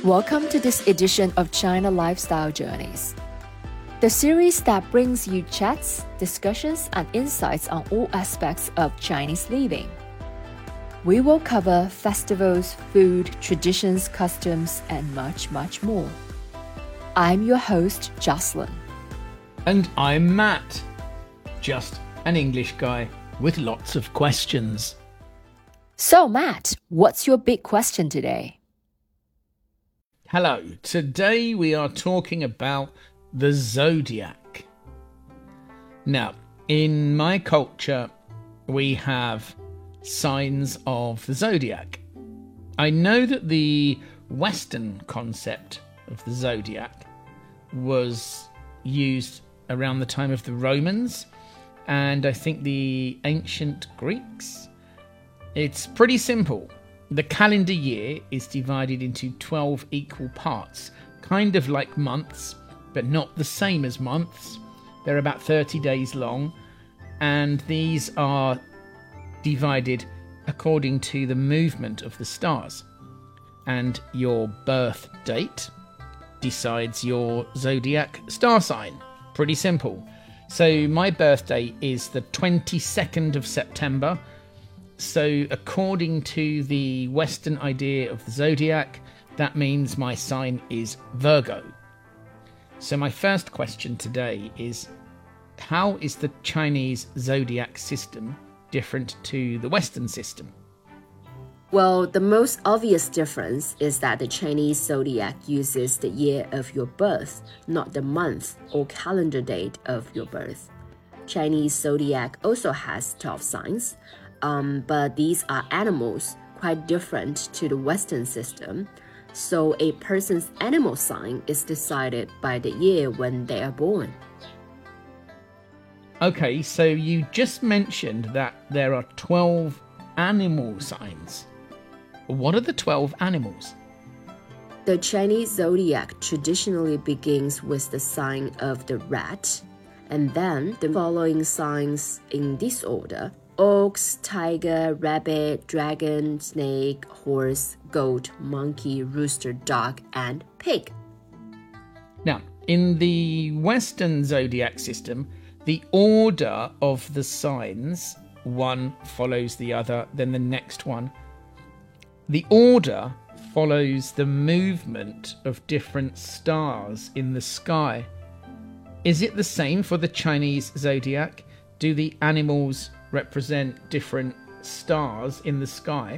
Welcome to this edition of China Lifestyle Journeys, the series that brings you chats, discussions, and insights on all aspects of Chinese living. We will cover festivals, food, traditions, customs, and much, much more. I'm your host, Jocelyn. And I'm Matt, just an English guy with lots of questions. So, Matt, what's your big question today? Hello, today we are talking about the zodiac. Now, in my culture, we have signs of the zodiac. I know that the Western concept of the zodiac was used around the time of the Romans and I think the ancient Greeks. It's pretty simple. The calendar year is divided into 12 equal parts, kind of like months, but not the same as months. They're about 30 days long, and these are divided according to the movement of the stars. And your birth date decides your zodiac star sign. Pretty simple. So my birthday is the 22nd of September. So according to the Western idea of the zodiac, that means my sign is Virgo. So my first question today is, how is the Chinese zodiac system different to the Western system? Well, the most obvious difference is that the Chinese zodiac uses the year of your birth, not the month or calendar date of your birth. Chinese zodiac also has 12 signs, but these are animals, quite different to the Western system. So a person's animal sign is decided by the year when they are born. Okay, so you just mentioned that there are 12 animal signs. What are the 12 animals? The Chinese zodiac traditionally begins with the sign of the rat, and then the following signs in this order: ox, tiger, rabbit, dragon, snake, horse, goat, monkey, rooster, dog, and pig. Now, in the Western zodiac system, the order of the signs, one follows the other, then the next one. The order follows the movement of different stars in the sky. Is it the same for the Chinese zodiac? Do the animals represent different stars in the sky?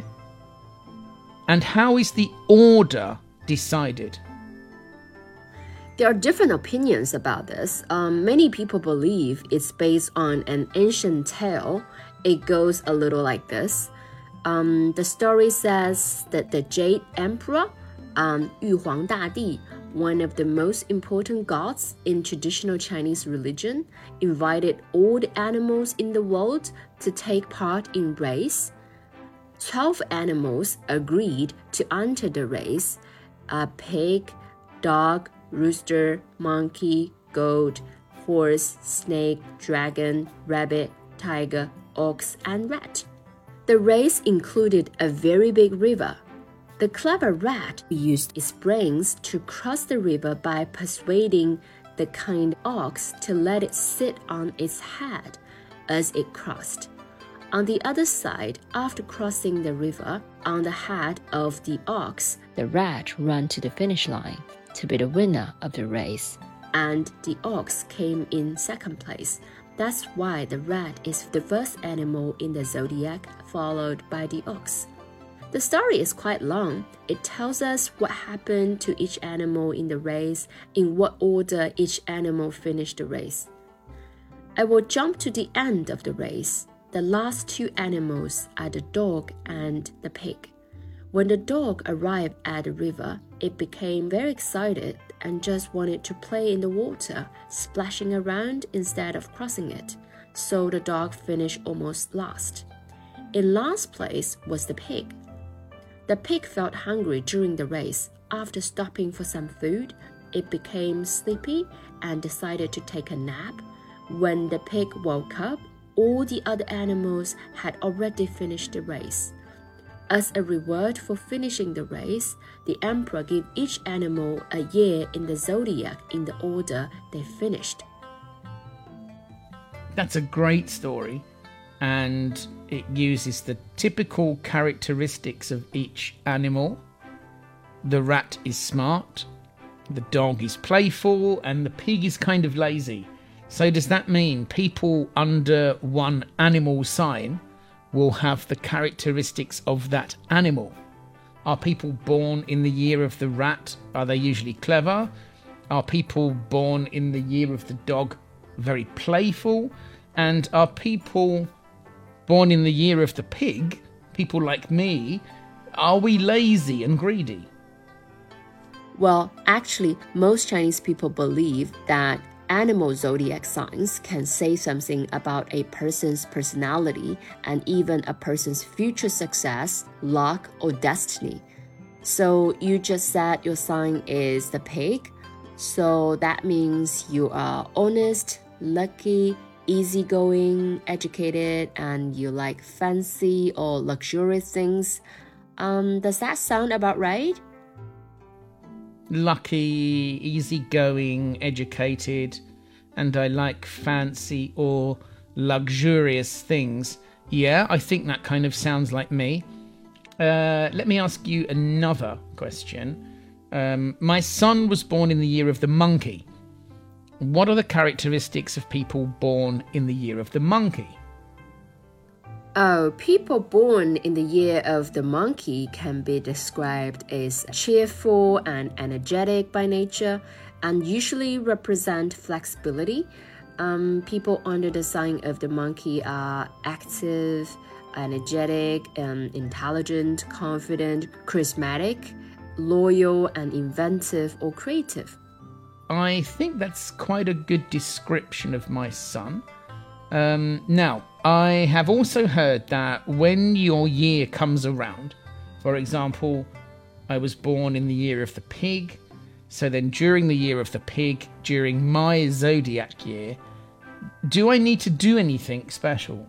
And how is the order decided? There are different opinions about this. Many people believe it's based on an ancient tale. It goes a little like this. The story says that the Jade Emperor, Yu Huang Dadi, one of the most important gods in traditional Chinese religion, invited all the animals in the world to take part in race. 12 animals agreed to enter the race: a pig, dog, rooster, monkey, goat, horse, snake, dragon, rabbit, tiger, ox, and rat. The race included a very big river. The clever rat used its brains to cross the river by persuading the kind ox to let it sit on its head as it crossed. On the other side, after crossing the river, on the head of the ox, The rat ran to the finish line to be the winner of the race. and the ox came in second place. That's why the rat is the first animal in the zodiac, followed by the ox. The story is quite long. It tells us what happened to each animal in the race, in what order each animal finished the race. I will jump to the end of the race. The last two animals are the dog and the pig. When the dog arrived at the river, it became very excited and just wanted to play in the water, splashing around instead of crossing it. So the dog finished almost last. In last place was the pig. The pig felt hungry during the race. After stopping for some food, it became sleepy and decided to take a nap. When the pig woke up, all the other animals had already finished the race. As a reward for finishing the race, the emperor gave each animal a year in the zodiac in the order they finished. That's a great story, and it uses the typical characteristics of each animal. The rat is smart, the dog is playful, and the pig is kind of lazy. So does that mean people under one animal sign will have the characteristics of that animal? Are people born in the year of the rat? Are they usually clever? Are people born in the year of the dog very playful? And are people born in the year of the pig, people like me, are we lazy and greedy? Well, actually, most Chinese people believe that animal zodiac signs can say something about a person's personality and even a person's future success, luck, or destiny. So you just said your sign is the pig. So that means you are honest, lucky, easygoing, educated, and you like fancy or luxurious things. Does that sound about right? Lucky, easygoing, educated, and I like fancy or luxurious things. Yeah, I think that kind of sounds like me. Let me ask you another question. My son was born in the year of the monkey. What are the characteristics of people born in the year of the monkey? Oh, people born in the year of the monkey can be described as cheerful and energetic by nature and usually represent flexibility. People under the sign of the monkey are active, energetic, intelligent, confident, charismatic, loyal, and inventive or creative. I think that's quite a good description of my son. Now, I have also heard that when your year comes around, for example, I was born in the year of the pig, so then during the year of the pig, during my zodiac year, do I need to do anything special?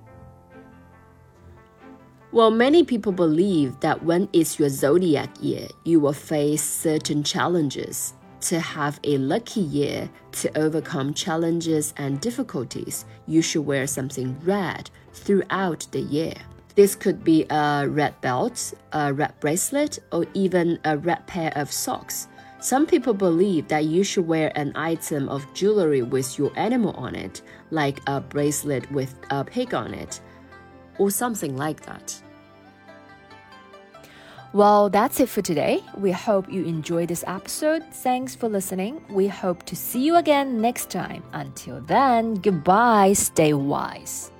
Well, many people believe that when it's your zodiac year, you will face certain challenges. To have a lucky year to overcome challenges and difficulties, you should wear something red throughout the year. This could be a red belt, a red bracelet, or even a red pair of socks. Some people believe that you should wear an item of jewelry with your animal on it, like a bracelet with a pig on it, or something like that. Well, that's it for today. We hope you enjoyed this episode. Thanks for listening. We hope to see you again next time. Until then, goodbye. Stay wise.